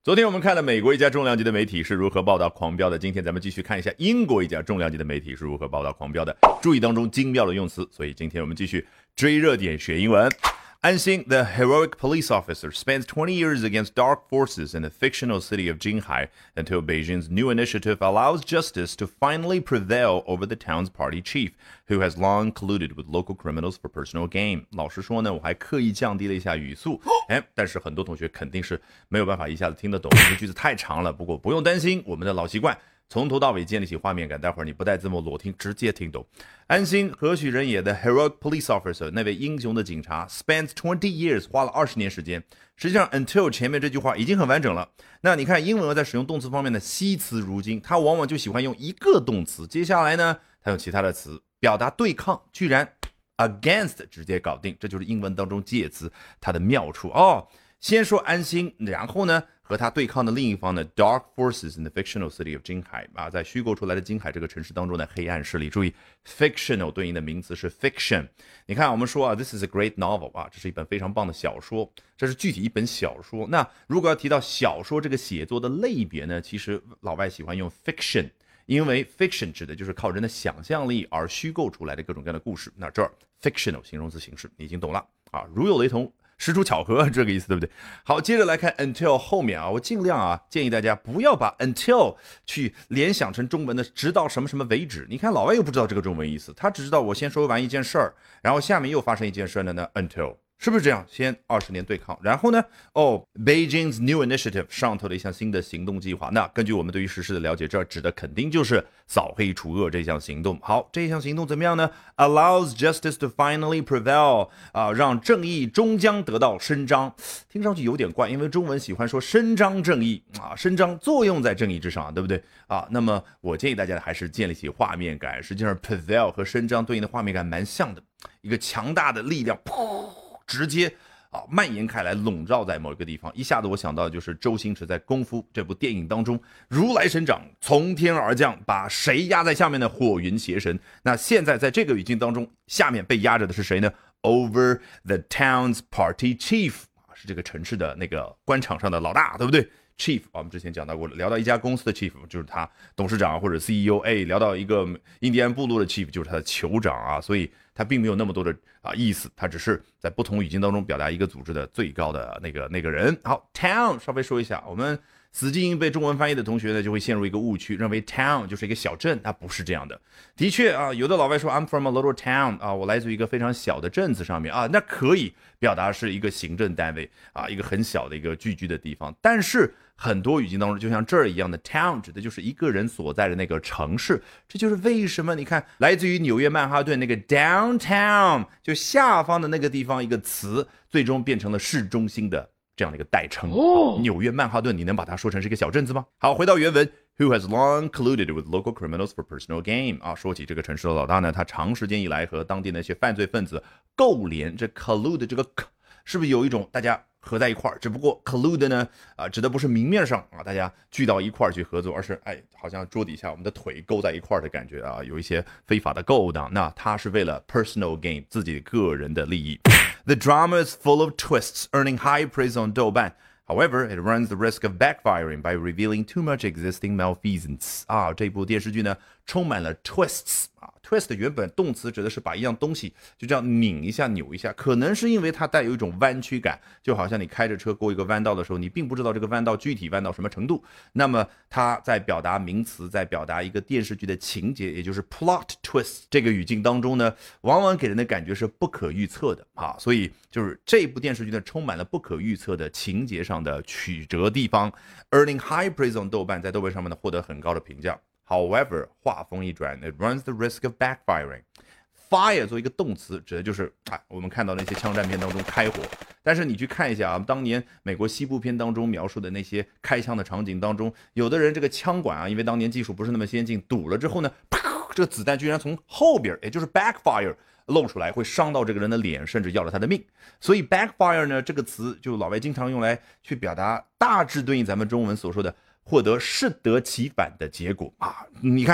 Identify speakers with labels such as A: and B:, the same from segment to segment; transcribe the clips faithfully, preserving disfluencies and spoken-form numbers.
A: 昨天我们看了美国一家重量级的媒体是如何报道狂飙的，今天咱们继续看一下英国一家重量级的媒体是如何报道狂飙的。注意当中精妙的用词，所以今天我们继续追热点学英文。安心 the heroic police officer spends twenty years against dark forces in the fictional city of Jinghai until Beijing's new initiative allows justice to finally prevail over the town's party chief, who has long colluded with local criminals for personal gain. 老实说呢，我还刻意降低了一下语速，哎，但是很多同学肯定是没有办法一下子听得懂，因为句子太长了。不过不用担心，我们的老习惯。从头到尾建立起画面感，待会儿你不带字幕裸听直接听懂。安心何许人也的 heroic police officer 那位英雄的警察 spends twenty years 花了二十年时间。实际上 until 前面这句话已经很完整了。那你看英文在使用动词方面的惜词如金，它往往就喜欢用一个动词，接下来呢它用其他的词表达对抗，居然 against 直接搞定，这就是英文当中介词它的妙处哦。先说安心，然后呢和他对抗的另一方呢 dark forces in the fictional city of Jinghai 啊，在虚构出来的金海这个城市当中的黑暗势力。注意 fictional 对应的名词是 fiction。你看我们说啊 this is a great novel 啊，这是一本非常棒的小说，这是具体一本小说。那如果要提到小说这个写作的类别呢，其实老外喜欢用 fiction， 因为 fiction 指的就是靠人的想象力而虚构出来的各种各样的故事。那这儿 fictional 形容词形式你已经懂了啊，如有雷同实属巧合，这个意思对不对？好，接着来看 until 后面啊，我尽量啊建议大家不要把 until 去联想成中文的直到什么什么为止。你看老外又不知道这个中文意思，他只知道我先说完一件事儿，然后下面又发生一件事呢呢 until。是不是这样？先二十年对抗，然后呢？哦 ，Beijing's new initiative 上头的一项新的行动计划。那根据我们对于时事的了解，这指的肯定就是扫黑除恶这项行动。好，这项行动怎么样呢 ？Allows justice to finally prevail 啊，让正义终将得到伸张。听上去有点怪，因为中文喜欢说伸张正义啊，伸张作用在正义之上，对不对啊？那么我建议大家还是建立起画面感。实际上 prevail 和伸张对应的画面感蛮像的，一个强大的力量，噗。直接啊蔓延开来，笼罩在某一个地方。一下子我想到的就是周星驰在《功夫》这部电影当中，如来神掌从天而降，把谁压在下面的火云邪神。那现在在这个语境当中，下面被压着的是谁呢 ？Over the town's party chief 是这个城市的那个官场上的老大，对不对？Chief 我们之前讲到过了，聊到一家公司的 Chief 就是他董事长或者 C E O， 哎，聊到一个印第安部落的 Chief 就是他的酋长啊，所以他并没有那么多的啊意思，他只是在不同语境当中表达一个组织的最高的那个那个人。好 ，Town 稍微说一下，我们死记硬背中文翻译的同学呢，就会陷入一个误区，认为 Town 就是一个小镇，它不是这样的。的确啊，有的老外说 I'm from a little town 啊，我来自于一个非常小的镇子上面啊，那可以表达是一个行政单位啊，一个很小的一个聚居的地方，但是很多语境当中，就像这儿一样的 town 指的就是一个人所在的那个城市，这就是为什么你看来自于纽约曼哈顿那个 downtown 就下方的那个地方一个词，最终变成了市中心的这样的一个代称。哦，纽约曼哈顿，你能把它说成是一个小镇子吗？好，回到原文 ，Who has long colluded with local criminals for personal gain 啊，说起这个城市的老大呢，他长时间以来和当地那些犯罪分子勾连，这 collude 这个 k 是不是有一种大家合在一块儿？只不过 collude 呢，啊，指的不是明面上啊，大家聚到一块儿去合作，而是哎，好像桌底下我们的腿勾在一块儿的感觉啊，有一些非法的勾当。那他是为了 personal gain 自己个人的利益。The drama is full of twists, earning high praise on 豆瓣。However, it runs the risk of backfiring by revealing too much existing malfeasance. 啊，这部电视剧呢，充满了 twists 啊。twist 原本动词指的是把一样东西就这样拧一下、扭一下，可能是因为它带有一种弯曲感，就好像你开着车过一个弯道的时候，你并不知道这个弯道具体弯到什么程度。那么它在表达名词，在表达一个电视剧的情节，也就是 plot twist 这个语境当中呢，往往给人的感觉是不可预测的啊。所以就是这部电视剧呢，充满了不可预测的情节上的曲折地方。Earning high praise on 豆瓣，在豆瓣上面呢获得很高的评价。However, 话锋一转 it runs the risk of backfiring. Fire 作为一个动词，指的就是啊，我们看到那些枪战片当中开火。但是你去看一下啊，当年美国西部片当中描述的那些开枪的场景当中，有的人这个枪管啊，因为当年技术不是那么先进，堵了之后呢，这个子弹居然从后边，也就是 backfire 露出来，会伤到这个人的脸，甚至要了他的命。所以 backfire 呢这个词，就老外经常用来去表达，大致对应咱们中文所说的获得适得其反的结果啊。你看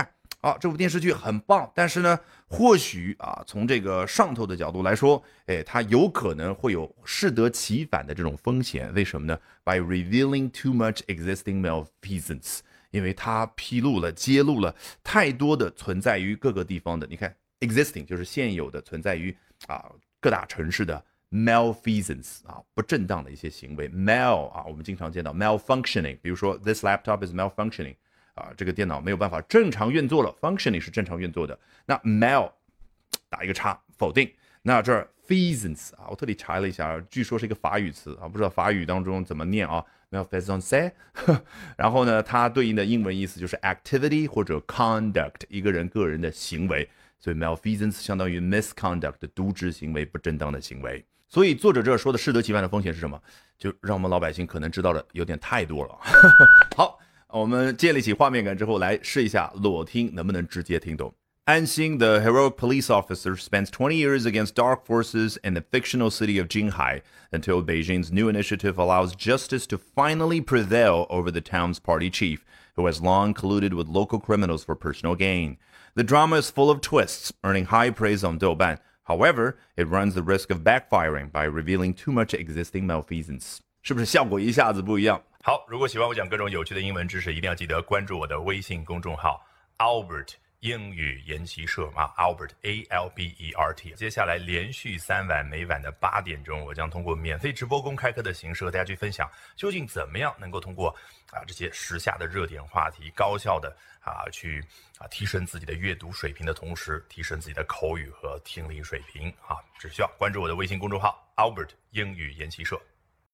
A: 啊，这部电视剧很棒，但是呢，或许啊，从这个上头的角度来说，哎，它有可能会有适得其反的这种风险。为什么呢 ？By revealing too much existing malfeasance， 因为它披露了、揭露了太多的存在于各个地方的，你看 existing 就是现有的存在于啊各大城市的 malfeasance 啊不正当的一些行为 mal 啊，我们经常见到 malfunctioning， 比如说 this laptop is malfunctioning。啊，这个电脑没有办法正常运作了 ，functioning 是正常运作的。那 mal 打一个叉，否定。那这儿 feasance 啊，我特地查了一下，据说是一个法语词啊，不知道法语当中怎么念啊 malfeasance。然后呢，它对应的英文意思就是 activity 或者 conduct， 一个人个人的行为。所以 malfeasance 相当于 misconduct， 渎职行为、不正当的行为。所以作者这说的适得其反的风险是什么？就让我们老百姓可能知道的有点太多了。好。我们建立起画面感之后，来试一下裸听能不能直接听懂。安心 the heroic police officer spends twenty years against dark forces in the fictional city of Jinghai until Beijing's new initiative allows justice to finally prevail over the town's party chief, who has long colluded with local criminals for personal gain. The drama is full of twists, earning high praise on Douban. However, it runs the risk of backfiring by revealing too much existing malfeasance. 是不是效果一下子不一样？好，如果喜欢我讲各种有趣的英文知识，一定要记得关注我的微信公众号 Albert 英语研习社啊 ，Albert A L B E R T。接下来连续三晚，每晚的八点钟，我将通过免费直播公开课的形式和大家去分享，究竟怎么样能够通过啊这些时下的热点话题，高效的啊去啊提升自己的阅读水平的同时，提升自己的口语和听力水平啊，只需要关注我的微信公众号 Albert 英语研习社。